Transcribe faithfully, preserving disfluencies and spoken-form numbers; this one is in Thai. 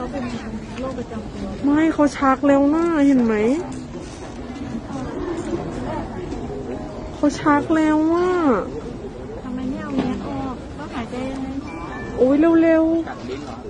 เป็นโรคประจำตัวไม่เขาชักแล้วนะเห็นไหมเขาชักแล้วว่าทำไมไม่เอาแมสออกก็หายใจยังไงโอ้ยเร็วกัดลิ้นเหรอ